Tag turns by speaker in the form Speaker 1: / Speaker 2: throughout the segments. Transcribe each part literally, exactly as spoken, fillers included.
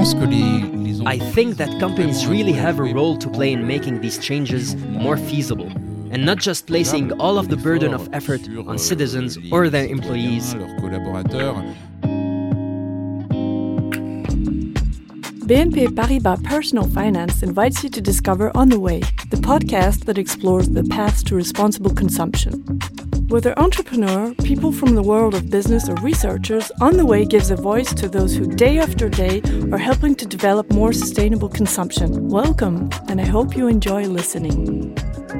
Speaker 1: I think that companies really have a role to play in making these changes more feasible, and not just placing all of the burden of effort on citizens or their employees.
Speaker 2: B N P Paribas Personal Finance invites you to discover On the Way, the podcast that explores the paths to responsible consumption. Whether entrepreneur, people from the world of business, or researchers, On the Way gives a voice to those who day after day are helping to develop more sustainable consumption. Welcome, and I hope you enjoy listening.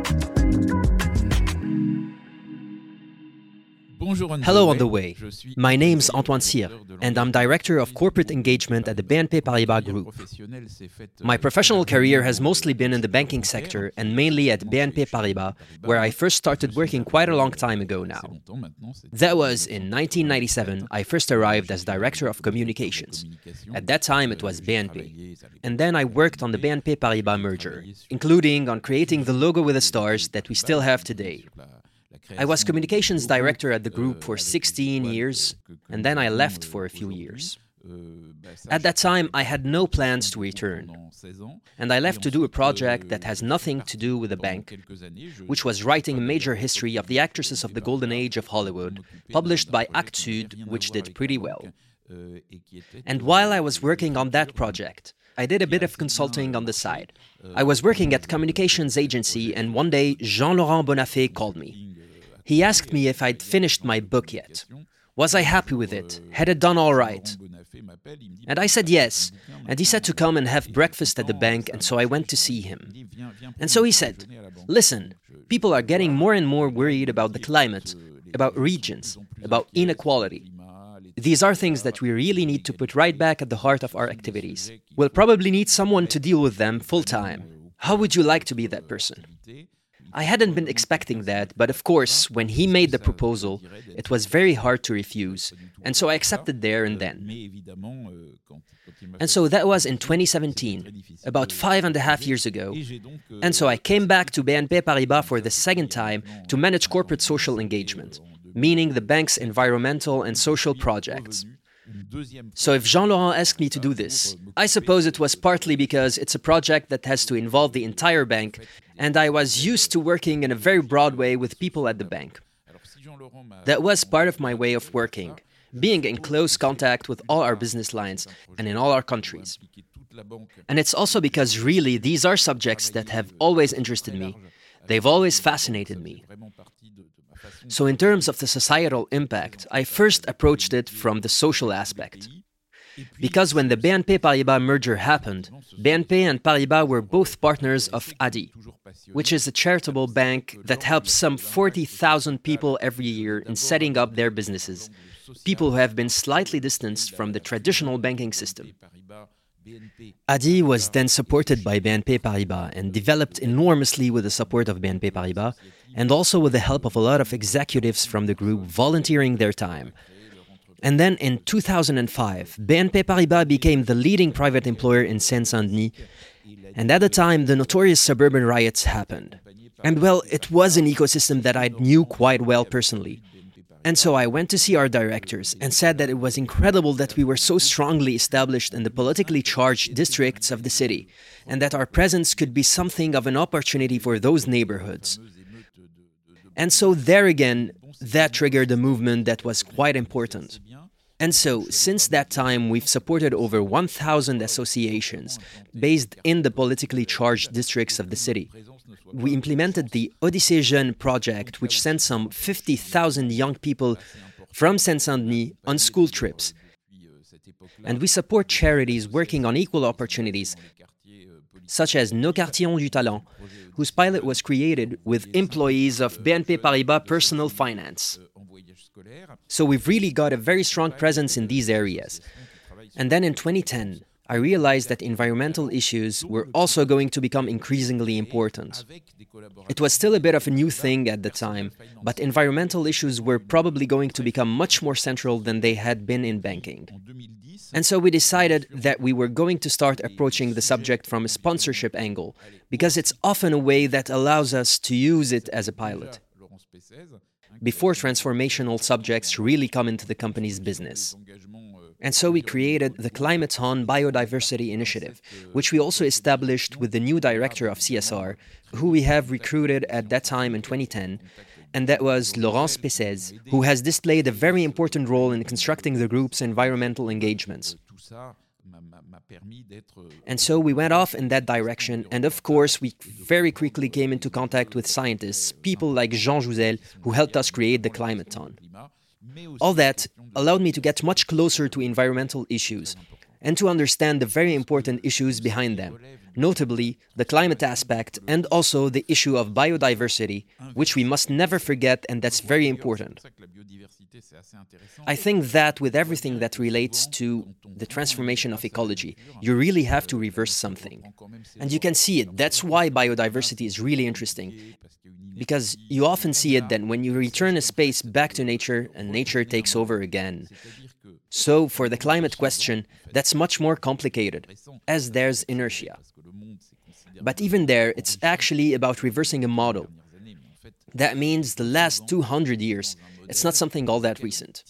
Speaker 1: Hello On the Way. My name's Antoine Cyr, and I'm Director of Corporate Engagement at the B N P Paribas Group. My professional career has mostly been in the banking sector and mainly at B N P Paribas, where I first started working quite a long time ago now. That was in nineteen ninety-seven, I first arrived as Director of Communications. At that time it was B N P. And then I worked on the B N P Paribas merger, including on creating the logo with the stars that we still have today. I was communications director at the group for sixteen years, and then I left for a few years. At that time, I had no plans to return, and I left to do a project that has nothing to do with the bank, which was writing a major history of the actresses of the golden age of Hollywood, published by Actes Sud, which did pretty well. And while I was working on that project, I did a bit of consulting on the side. I was working at a communications agency, and one day, Jean-Laurent Bonnafé called me. He asked me if I'd finished my book yet. Was I happy with it? Had it done all right? And I said yes, and he said to come and have breakfast at the bank, and so I went to see him. And so he said, listen, people are getting more and more worried about the climate, about regions, about inequality. These are things that we really need to put right back at the heart of our activities. We'll probably need someone to deal with them full-time. How would you like to be that person? I hadn't been expecting that, but of course, when he made the proposal, it was very hard to refuse, and so I accepted there and then. And so that was in twenty seventeen, about five and a half years ago, and so I came back to B N P Paribas for the second time to manage corporate social engagement, meaning the bank's environmental and social projects. So if Jean-Laurent asked me to do this, I suppose it was partly because it's a project that has to involve the entire bank, and I was used to working in a very broad way with people at the bank. That was part of my way of working, being in close contact with all our business lines and in all our countries. And it's also because really these are subjects that have always interested me. They've always fascinated me. So in terms of the societal impact, I first approached it from the social aspect. Because when the B N P Paribas merger happened, B N P and Paribas were both partners of A D I, which is a charitable bank that helps some forty thousand people every year in setting up their businesses, people who have been slightly distanced from the traditional banking system. A D I was then supported by B N P Paribas and developed enormously with the support of B N P Paribas and also with the help of a lot of executives from the group volunteering their time. And then in two thousand five, B N P Paribas became the leading private employer in Seine-Saint-Denis, and at the time the notorious suburban riots happened. And well, it was an ecosystem that I knew quite well personally. And so I went to see our directors and said that it was incredible that we were so strongly established in the politically charged districts of the city, and that our presence could be something of an opportunity for those neighborhoods. And so there again, that triggered a movement that was quite important. And so, since that time, we've supported over one thousand associations based in the politically charged districts of the city. We implemented the Odyssée Jeune project, which sent some fifty thousand young people from Seine-Saint-Denis on school trips. And we support charities working on equal opportunities, such as Nos Quartiers ont du Talent, whose pilot was created with employees of B N P Paribas Personal Finance. So we've really got a very strong presence in these areas. And then in twenty ten, I realized that environmental issues were also going to become increasingly important. It was still a bit of a new thing at the time, but environmental issues were probably going to become much more central than they had been in banking. And so we decided that we were going to start approaching the subject from a sponsorship angle, because it's often a way that allows us to use it as a pilot, before transformational subjects really come into the company's business. And so we created the Climaton Biodiversity Initiative, which we also established with the new director of C S R, who we have recruited at that time in twenty ten, and that was Laurence Pessez, who has displayed a very important role in constructing the group's environmental engagements. And so we went off in that direction, and of course we very quickly came into contact with scientists, people like Jean Jouzel, who helped us create the Climaton. All that allowed me to get much closer to environmental issues and to understand the very important issues behind them, notably the climate aspect and also the issue of biodiversity, which we must never forget, and that's very important. I think that with everything that relates to the transformation of ecology, you really have to reverse something. And you can see it. That's why biodiversity is really interesting. Because you often see it then when you return a space back to nature and nature takes over again. So for the climate question, that's much more complicated, as there's inertia. But even there, it's actually about reversing a model. That means the last two hundred years, it's not something all that recent.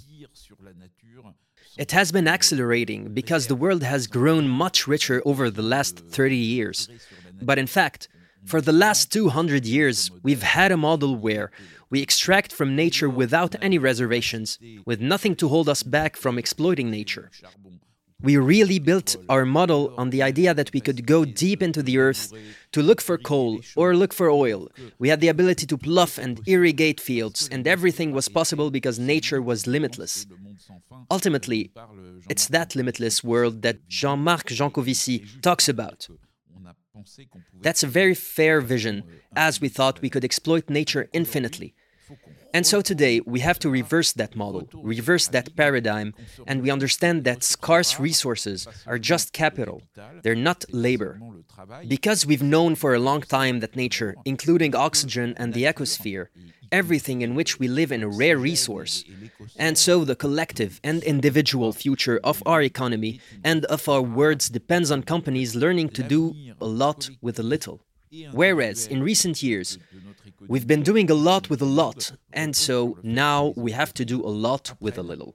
Speaker 1: It has been accelerating because the world has grown much richer over the last thirty years. But in fact, for the last two hundred years, we've had a model where we extract from nature without any reservations, with nothing to hold us back from exploiting nature. We really built our model on the idea that we could go deep into the earth to look for coal or look for oil. We had the ability to plough and irrigate fields, and everything was possible because nature was limitless. Ultimately, it's that limitless world that Jean-Marc Jancovici talks about. That's a very fair vision, as we thought we could exploit nature infinitely. And so today, we have to reverse that model, reverse that paradigm, and we understand that scarce resources are just capital. They're not labor. Because we've known for a long time that nature, including oxygen and the ecosphere, everything in which we live in a rare resource, and so the collective and individual future of our economy and of our words depends on companies learning to do a lot with a little. Whereas in recent years, we've been doing a lot with a lot, and so now we have to do a lot with a little.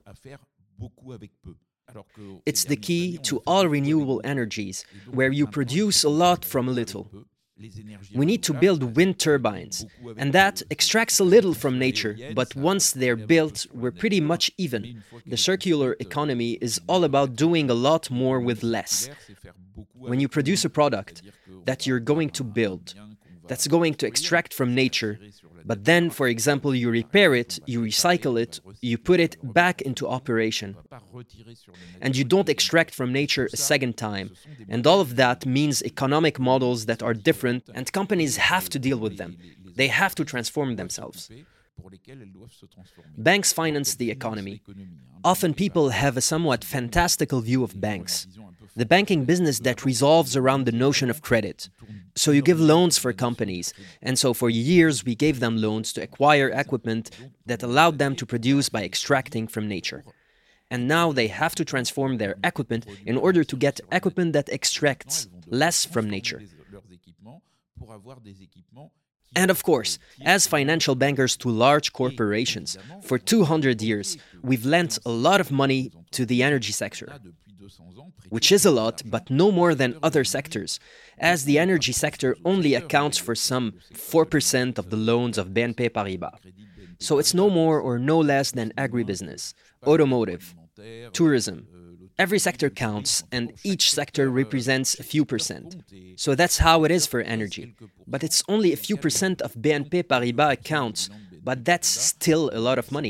Speaker 1: It's the key to all renewable energies, where you produce a lot from a little. We need to build wind turbines, and that extracts a little from nature, but once they're built, we're pretty much even. The circular economy is all about doing a lot more with less. When you produce a product that you're going to build, that's going to extract from nature, but then, for example, you repair it, you recycle it, you put it back into operation. And you don't extract from nature a second time. And all of that means economic models that are different, and companies have to deal with them. They have to transform themselves. Banks finance the economy. Often people have a somewhat fantastical view of banks. The banking business that revolves around the notion of credit. So you give loans for companies, and so for years we gave them loans to acquire equipment that allowed them to produce by extracting from nature. And now they have to transform their equipment in order to get equipment that extracts less from nature. And of course, as financial bankers to large corporations, for two hundred years, we've lent a lot of money to the energy sector, which is a lot, but no more than other sectors, as the energy sector only accounts for some four percent of the loans of B N P Paribas. So it's no more or no less than agribusiness, automotive, tourism. Every sector counts, and each sector represents a few percent. So that's how it is for energy. But it's only a few percent of B N P Paribas accounts, but that's still a lot of money.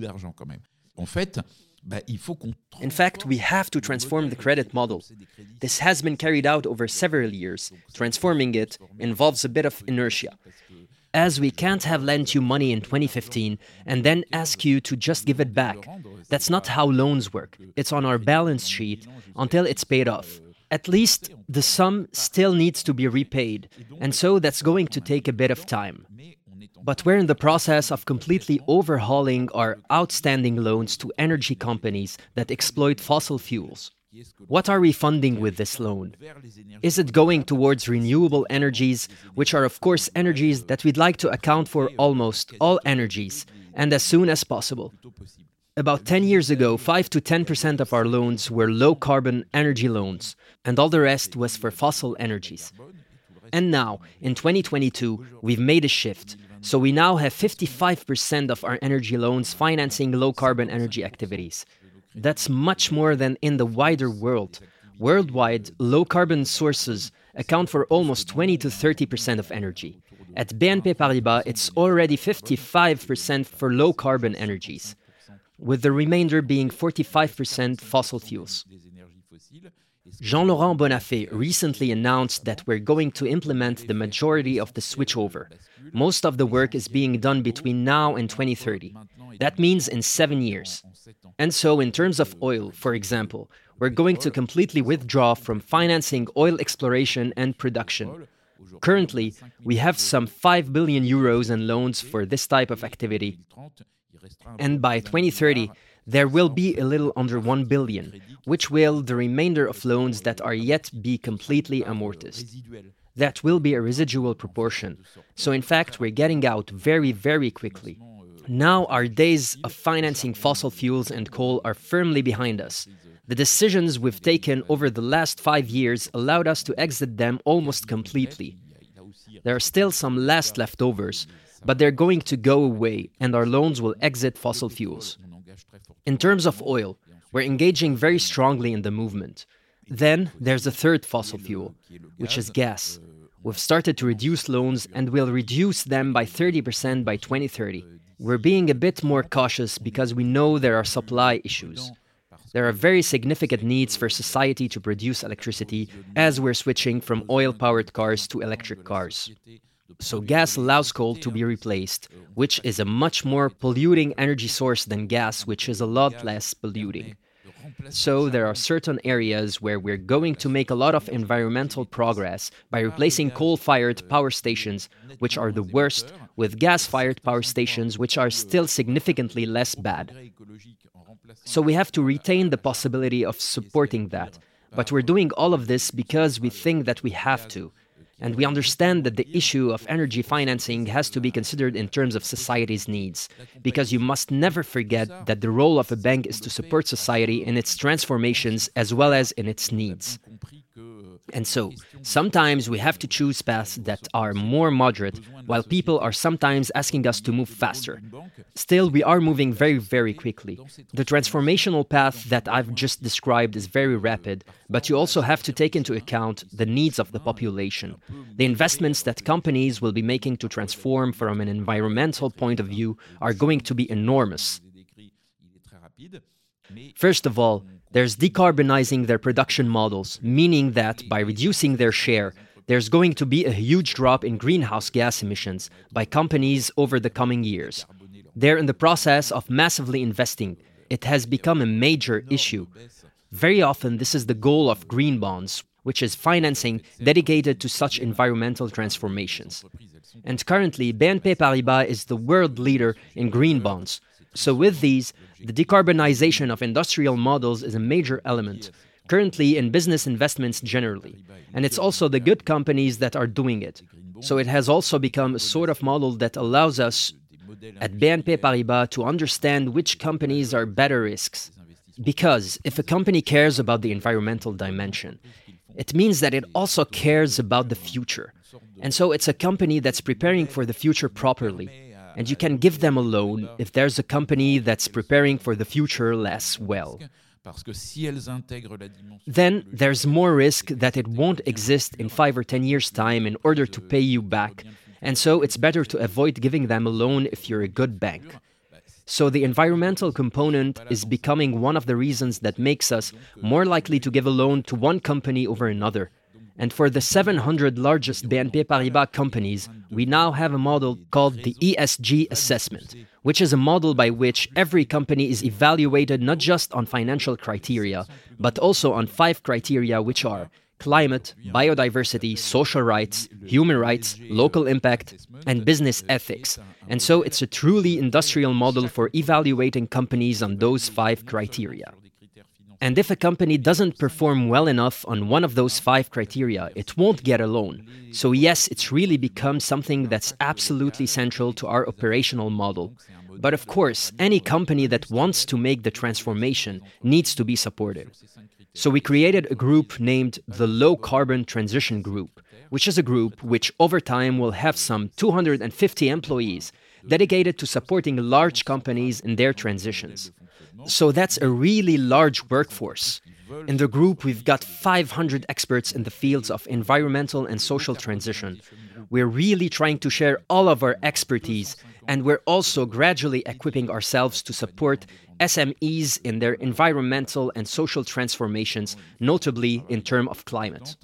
Speaker 1: In fact, we have to transform the credit model. This has been carried out over several years. Transforming it involves a bit of inertia. As we can't have lent you money in twenty fifteen and then ask you to just give it back. That's not how loans work. It's on our balance sheet until it's paid off. At least the sum still needs to be repaid, and so that's going to take a bit of time. But we're in the process of completely overhauling our outstanding loans to energy companies that exploit fossil fuels. What are we funding with this loan? Is it going towards renewable energies, which are of course energies that we'd like to account for almost all energies, and as soon as possible? About ten years ago, five to ten percent of our loans were low-carbon energy loans, and all the rest was for fossil energies. And now, in twenty twenty-two, we've made a shift. So we now have fifty-five percent of our energy loans financing low-carbon energy activities. That's much more than in the wider world. Worldwide, low-carbon sources account for almost twenty to thirty percent of energy. At B N P Paribas, it's already fifty-five percent for low-carbon energies, with the remainder being forty-five percent fossil fuels. Jean-Laurent Bonnafé recently announced that we're going to implement the majority of the switchover. Most of the work is being done between now and twenty thirty. That means in seven years. And so, in terms of oil, for example, we're going to completely withdraw from financing oil exploration and production. Currently, we have some five billion euros in loans for this type of activity. And by twenty thirty, there will be a little under one billion, which will the remainder of loans that are yet be completely amortized. That will be a residual proportion. So in fact, we're getting out very, very quickly. Now our days of financing fossil fuels and coal are firmly behind us. The decisions we've taken over the last five years allowed us to exit them almost completely. There are still some last leftovers, but they're going to go away, and our loans will exit fossil fuels. In terms of oil, we're engaging very strongly in the movement. Then there's a third fossil fuel, which is gas. We've started to reduce loans and will reduce them by thirty percent by twenty thirty. We're being a bit more cautious because we know there are supply issues. There are very significant needs for society to produce electricity as we're switching from oil-powered cars to electric cars. So gas allows coal to be replaced, which is a much more polluting energy source than gas, which is a lot less polluting. So there are certain areas where we're going to make a lot of environmental progress by replacing coal-fired power stations, which are the worst, with gas-fired power stations, which are still significantly less bad. So we have to retain the possibility of supporting that. But we're doing all of this because we think that we have to. And we understand that the issue of energy financing has to be considered in terms of society's needs, because you must never forget that the role of a bank is to support society in its transformations as well as in its needs. And so, sometimes we have to choose paths that are more moderate, while people are sometimes asking us to move faster. Still, we are moving very, very quickly. The transformational path that I've just described is very rapid, but you also have to take into account the needs of the population. The investments that companies will be making to transform from an environmental point of view are going to be enormous. First of all, there's decarbonizing their production models, meaning that by reducing their share, there's going to be a huge drop in greenhouse gas emissions by companies over the coming years. They're in the process of massively investing. It has become a major issue. Very often, this is the goal of green bonds, which is financing dedicated to such environmental transformations. And currently, B N P Paribas is the world leader in green bonds. So with these, the decarbonization of industrial models is a major element, currently in business investments generally. And it's also the good companies that are doing it. So it has also become a sort of model that allows us at B N P Paribas to understand which companies are better risks. Because if a company cares about the environmental dimension, it means that it also cares about the future. And so it's a company that's preparing for the future properly. And you can give them a loan if there's a company that's preparing for the future less well. Then there's more risk that it won't exist in five or ten years' time in order to pay you back. And so it's better to avoid giving them a loan if you're a good bank. So the environmental component is becoming one of the reasons that makes us more likely to give a loan to one company over another. And for the seven hundred largest B N P Paribas companies, we now have a model called the E S G assessment, which is a model by which every company is evaluated not just on financial criteria, but also on five criteria, which are climate, biodiversity, social rights, human rights, local impact, and business ethics. And so it's a truly industrial model for evaluating companies on those five criteria. And if a company doesn't perform well enough on one of those five criteria, it won't get a loan. So yes, it's really become something that's absolutely central to our operational model. But of course, any company that wants to make the transformation needs to be supported. So we created a group named the Low Carbon Transition Group, which is a group which over time will have some two hundred fifty employees dedicated to supporting large companies in their transitions. So that's a really large workforce. In the group, we've got five hundred experts in the fields of environmental and social transition. We're really trying to share all of our expertise, and we're also gradually equipping ourselves to support S M Es in their environmental and social transformations, notably in terms of climate.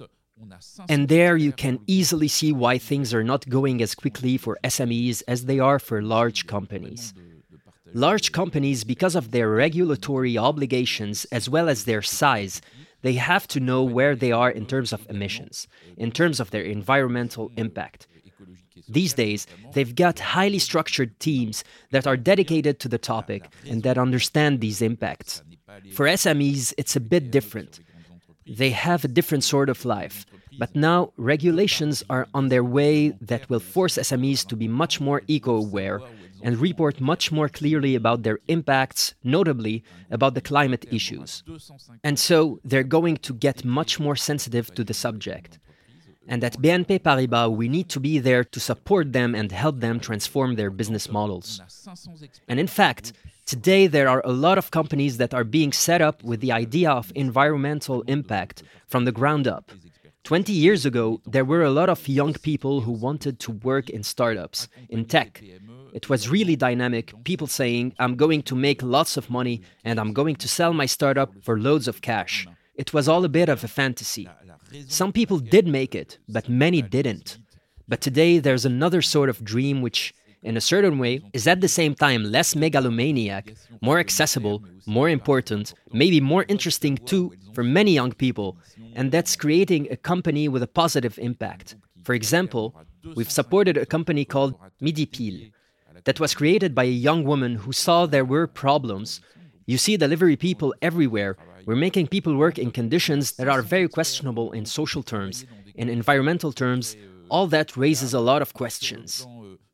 Speaker 1: And there you can easily see why things are not going as quickly for S M Es as they are for large companies. Large companies, because of their regulatory obligations as well as their size, they have to know where they are in terms of emissions, in terms of their environmental impact. These days, they've got highly structured teams that are dedicated to the topic and that understand these impacts. For S M Es, it's a bit different. They have a different sort of life. But now, regulations are on their way that will force S M Es to be much more eco-aware and report much more clearly about their impacts, notably about the climate issues. And so, they're going to get much more sensitive to the subject. And at B N P Paribas, we need to be there to support them and help them transform their business models. And in fact, today there are a lot of companies that are being set up with the idea of environmental impact from the ground up. Twenty years ago, there were a lot of young people who wanted to work in startups, in tech. It was really dynamic, people saying, I'm going to make lots of money and I'm going to sell my startup for loads of cash. It was all a bit of a fantasy. Some people did make it, but many didn't. But today there's another sort of dream which, in a certain way, is at the same time less megalomaniac, more accessible, more important, maybe more interesting too for many young people, and that's creating a company with a positive impact. For example, we've supported a company called Midi Pile that was created by a young woman who saw there were problems. You see delivery people everywhere. We're making people work in conditions that are very questionable in social terms, in environmental terms. All that raises a lot of questions.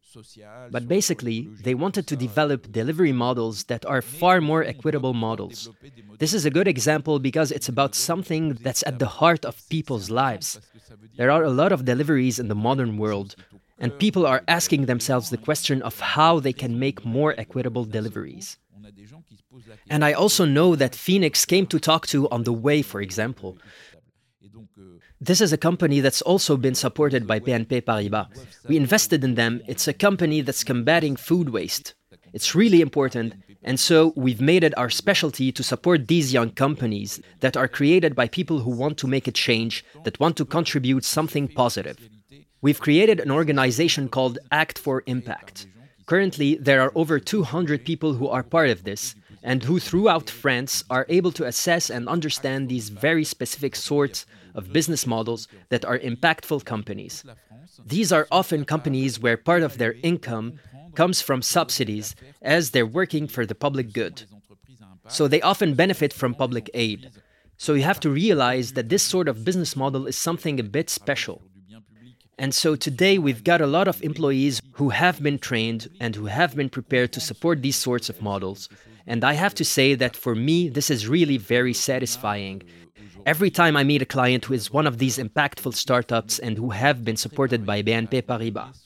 Speaker 1: But basically, they wanted to develop delivery models that are far more equitable models. This is a good example because it's about something that's at the heart of people's lives. There are a lot of deliveries in the modern world, and people are asking themselves the question of how they can make more equitable deliveries. And I also know that Phoenix came to talk to on the way, for example. This is a company that's also been supported by B N P Paribas. We invested in them. It's a company that's combating food waste. It's really important, and so we've made it our specialty to support these young companies that are created by people who want to make a change, that want to contribute something positive. We've created an organization called Act for Impact. Currently, there are over two hundred people who are part of this, and who throughout France are able to assess and understand these very specific sorts of business models that are impactful companies. These are often companies where part of their income comes from subsidies as they're working for the public good. So they often benefit from public aid. So you have to realize that this sort of business model is something a bit special. And so today we've got a lot of employees who have been trained and who have been prepared to support these sorts of models. And I have to say that for me, this is really very satisfying. Every time I meet a client who is one of these impactful startups and who have been supported by B N P Paribas.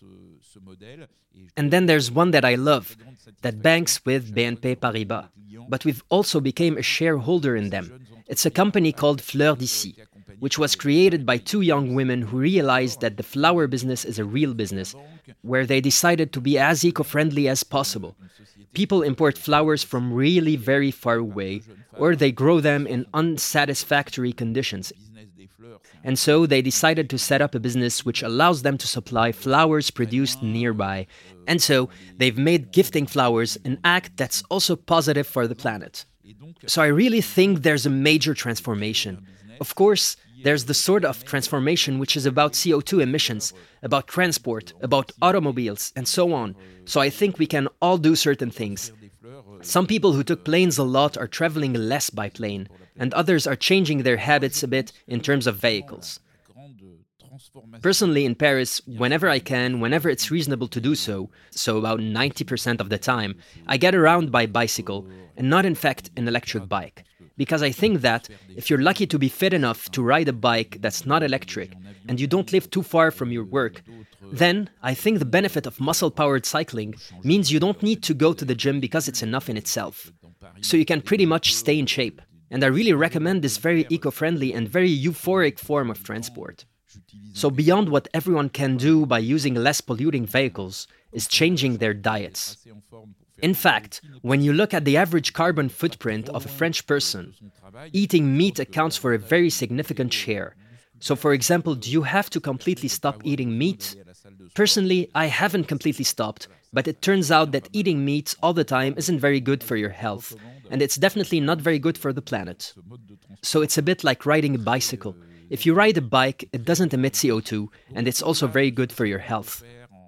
Speaker 1: And then there's one that I love, that banks with B N P Paribas. But we've also become a shareholder in them. It's a company called Fleurs d'Ici, which was created by two young women who realized that the flower business is a real business, where they decided to be as eco-friendly as possible. People import flowers from really very far away, or they grow them in unsatisfactory conditions. And so they decided to set up a business which allows them to supply flowers produced nearby. And so they've made gifting flowers an act that's also positive for the planet. So I really think there's a major transformation. Of course, there's the sort of transformation which is about C O two emissions, about transport, about automobiles, and so on. So I think we can all do certain things. Some people who took planes a lot are traveling less by plane, and others are changing their habits a bit in terms of vehicles. Personally, in Paris, whenever I can, whenever it's reasonable to do so, so about ninety percent of the time, I get around by bicycle, and not in fact an electric bike. Because I think that if you're lucky to be fit enough to ride a bike that's not electric, and you don't live too far from your work, then I think the benefit of muscle-powered cycling means you don't need to go to the gym because it's enough in itself. So you can pretty much stay in shape. And I really recommend this very eco-friendly and very euphoric form of transport. So beyond what everyone can do by using less polluting vehicles is changing their diets. In fact, when you look at the average carbon footprint of a French person, eating meat accounts for a very significant share. So for example, do you have to completely stop eating meat? Personally, I haven't completely stopped, but it turns out that eating meat all the time isn't very good for your health, and it's definitely not very good for the planet. So it's a bit like riding a bicycle. If you ride a bike, it doesn't emit C O two, and it's also very good for your health.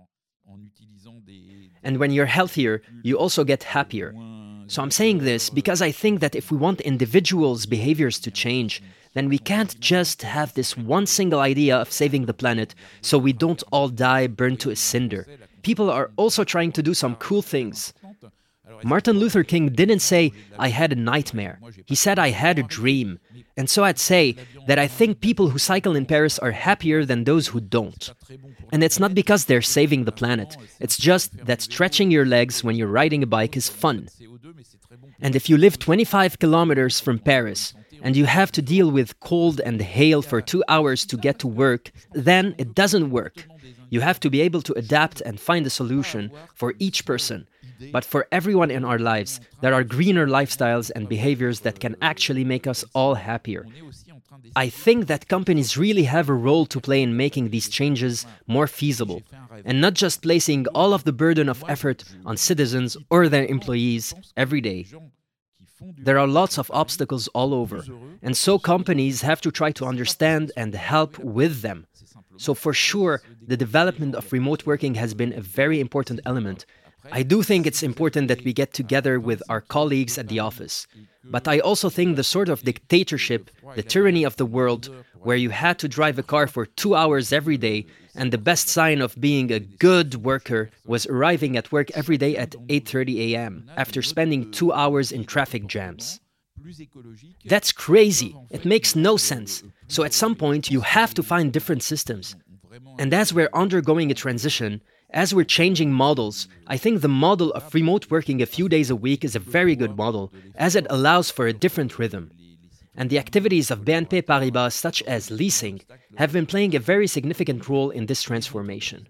Speaker 1: And when you're healthier, you also get happier. So I'm saying this because I think that if we want individuals' behaviors to change, then we can't just have this one single idea of saving the planet so we don't all die burned to a cinder. People are also trying to do some cool things. Martin Luther King didn't say, "I had a nightmare." He said, "I had a dream." And so I'd say that I think people who cycle in Paris are happier than those who don't. And it's not because they're saving the planet. It's just that stretching your legs when you're riding a bike is fun. And if you live twenty-five kilometers from Paris, and you have to deal with cold and hail for two hours to get to work, then it doesn't work. You have to be able to adapt and find a solution for each person. But for everyone in our lives, there are greener lifestyles and behaviors that can actually make us all happier. I think that companies really have a role to play in making these changes more feasible, and not just placing all of the burden of effort on citizens or their employees every day. There are lots of obstacles all over, and so companies have to try to understand and help with them. So for sure, the development of remote working has been a very important element. I do think it's important that we get together with our colleagues at the office. But I also think the sort of dictatorship, the tyranny of the world, where you had to drive a car for two hours every day, and the best sign of being a good worker was arriving at work every day at eight thirty a.m. after spending two hours in traffic jams. That's crazy. It makes no sense. So at some point, you have to find different systems. And as we're undergoing a transition, as we're changing models, I think the model of remote working a few days a week is a very good model, as it allows for a different rhythm. And the activities of B N P Paribas, such as leasing, have been playing a very significant role in this transformation.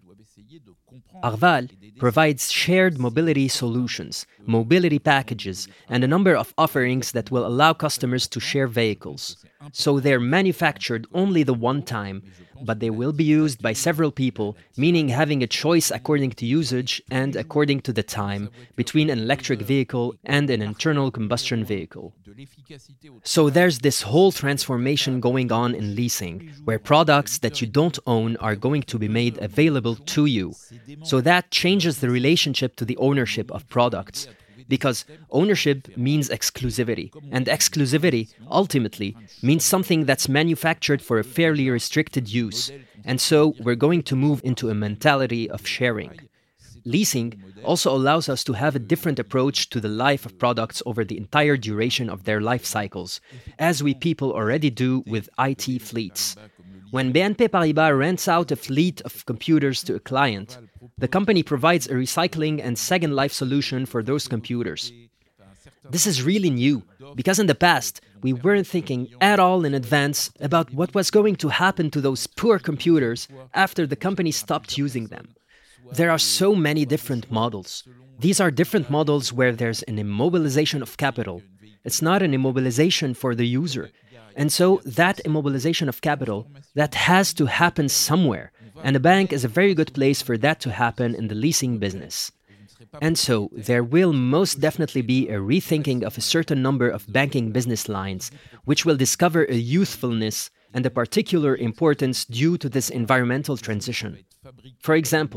Speaker 1: Arval provides shared mobility solutions, mobility packages, and a number of offerings that will allow customers to share vehicles. So they're manufactured only the one time, but they will be used by several people, meaning having a choice according to usage and according to the time between an electric vehicle and an internal combustion vehicle. So there's this whole transformation going on in leasing, where products that you don't own are going to be made available to you. So that changes the relationship to the ownership of products. Because ownership means exclusivity, and exclusivity, ultimately, means something that's manufactured for a fairly restricted use. And so we're going to move into a mentality of sharing. Leasing also allows us to have a different approach to the life of products over the entire duration of their life cycles, as we people already do with I T fleets. When B N P Paribas rents out a fleet of computers to a client, the company provides a recycling and second life solution for those computers. This is really new, because in the past, we weren't thinking at all in advance about what was going to happen to those poor computers after the company stopped using them. There are so many different models. These are different models where there's an immobilization of capital. It's not an immobilization for the user. And so that immobilization of capital, that has to happen somewhere. And a bank is a very good place for that to happen in the leasing business. And so there will most definitely be a rethinking of a certain number of banking business lines, which will discover a youthfulness and a particular importance due to this environmental transition. For example,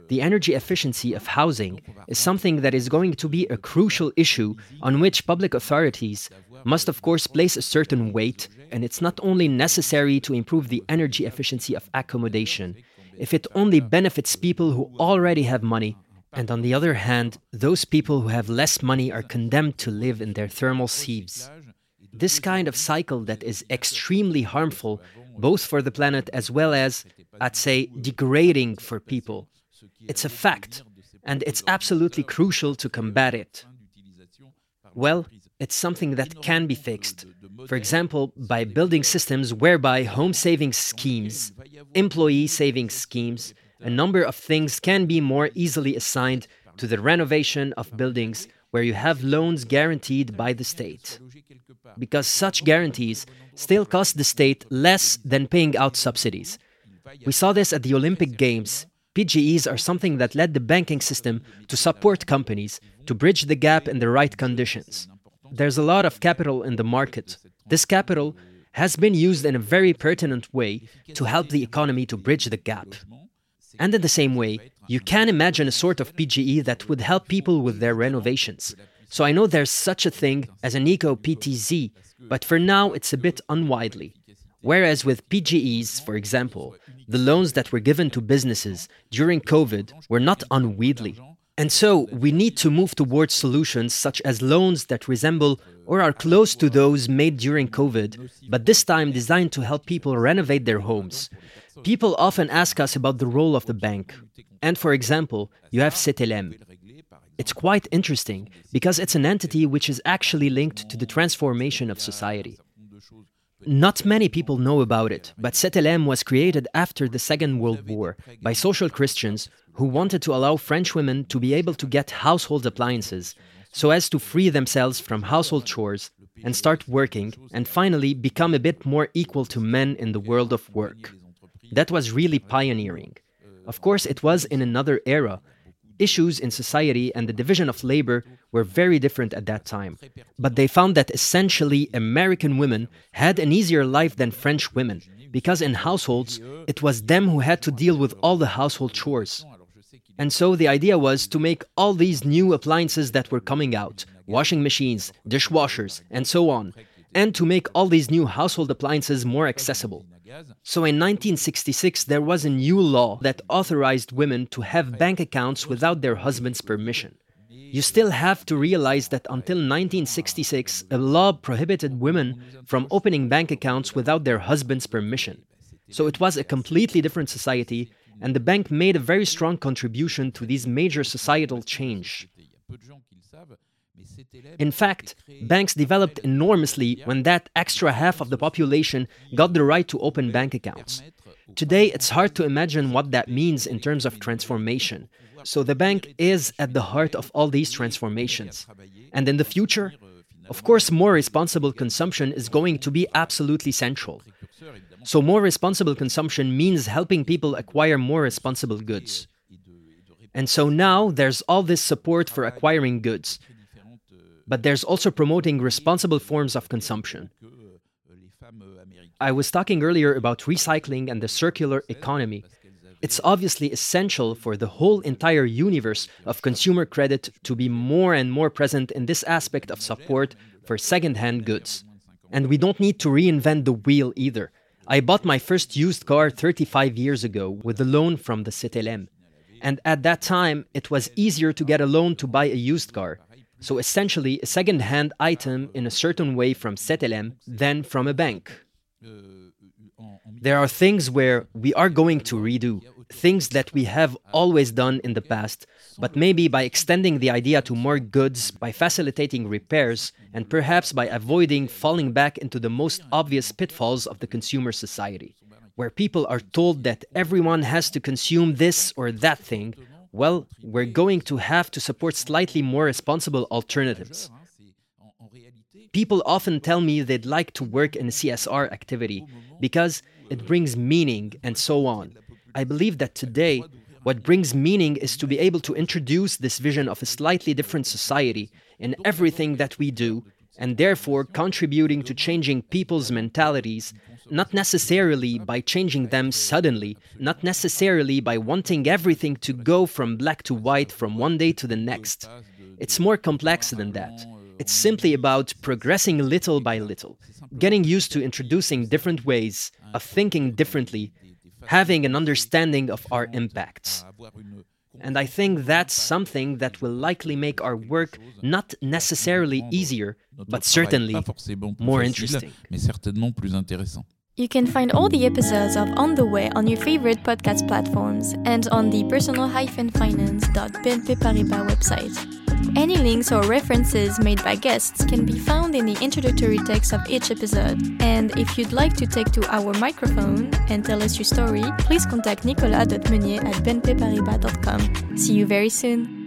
Speaker 1: The energy efficiency of housing is something that is going to be a crucial issue on which public authorities must of course place a certain weight, and it's not only necessary to improve the energy efficiency of accommodation if it only benefits people who already have money, and on the other hand, those people who have less money are condemned to live in their thermal sieves. This kind of cycle that is extremely harmful both for the planet as well as, I'd say, degrading for people. It's a fact, and it's absolutely crucial to combat it. Well, it's something that can be fixed. For example, by building systems whereby home savings schemes, employee savings schemes, a number of things can be more easily assigned to the renovation of buildings where you have loans guaranteed by the state. Because such guarantees still cost the state less than paying out subsidies. We saw this at the Olympic Games. P G Es are something that led the banking system to support companies to bridge the gap in the right conditions. There's a lot of capital in the market. This capital has been used in a very pertinent way to help the economy to bridge the gap. And in the same way, you can imagine a sort of P G E that would help people with their renovations. So I know there's such a thing as an eco-P T Z, but for now it's a bit unwidely. Whereas with P G Es, for example, the loans that were given to businesses during COVID were not unwieldy. And so we need to move towards solutions such as loans that resemble or are close to those made during COVID, but this time designed to help people renovate their homes. People often ask us about the role of the bank. And for example, you have C T L M. It's quite interesting because it's an entity which is actually linked to the transformation of society. Not many people know about it, but C T L M was created after the Second World War by social Christians who wanted to allow French women to be able to get household appliances so as to free themselves from household chores and start working and finally become a bit more equal to men in the world of work. That was really pioneering. Of course, it was in another era. Issues in society and the division of labor were very different at that time. But they found that essentially American women had an easier life than French women, because in households, it was them who had to deal with all the household chores. And so the idea was to make all these new appliances that were coming out, washing machines, dishwashers, and so on, and to make all these new household appliances more accessible. So in nineteen sixty-six, there was a new law that authorized women to have bank accounts without their husband's permission. You still have to realize that until nineteen sixty-six, a law prohibited women from opening bank accounts without their husband's permission. So it was a completely different society, and the bank made a very strong contribution to this major societal change. In fact, banks developed enormously when that extra half of the population got the right to open bank accounts. Today, it's hard to imagine what that means in terms of transformation. So the bank is at the heart of all these transformations. And in the future, of course, more responsible consumption is going to be absolutely central. So more responsible consumption means helping people acquire more responsible goods. And so now there's all this support for acquiring goods. But there's also promoting responsible forms of consumption. I was talking earlier about recycling and the circular economy. It's obviously essential for the whole entire universe of consumer credit to be more and more present in this aspect of support for second-hand goods. And we don't need to reinvent the wheel either. I bought my first used car thirty-five years ago with a loan from the C T L M. And at that time, it was easier to get a loan to buy a used car. So essentially, a second-hand item in a certain way from C T L M than from a bank. There are things where we are going to redo, things that we have always done in the past, but maybe by extending the idea to more goods, by facilitating repairs, and perhaps by avoiding falling back into the most obvious pitfalls of the consumer society, where people are told that everyone has to consume this or that thing. Well, we're going to have to support slightly more responsible alternatives. People often tell me they'd like to work in a C S R activity because it brings meaning and so on. I believe that today, what brings meaning is to be able to introduce this vision of a slightly different society in everything that we do and therefore contributing to changing people's mentalities, not necessarily by changing them suddenly, not necessarily by wanting everything to go from black to white from one day to the next. It's more complex than that. It's simply about progressing little by little, getting used to introducing different ways of thinking differently, having an understanding of our impacts. And I think that's something that will likely make our work not necessarily easier, but certainly more interesting.
Speaker 3: You can find all the episodes of On the Way on your favorite podcast platforms and on the personal finance dot b n p paribas website. Any links or references made by guests can be found in the introductory text of each episode. And if you'd like to take to our microphone and tell us your story, please contact nicolas dot meunier at b n p paribas dot com. See you very soon!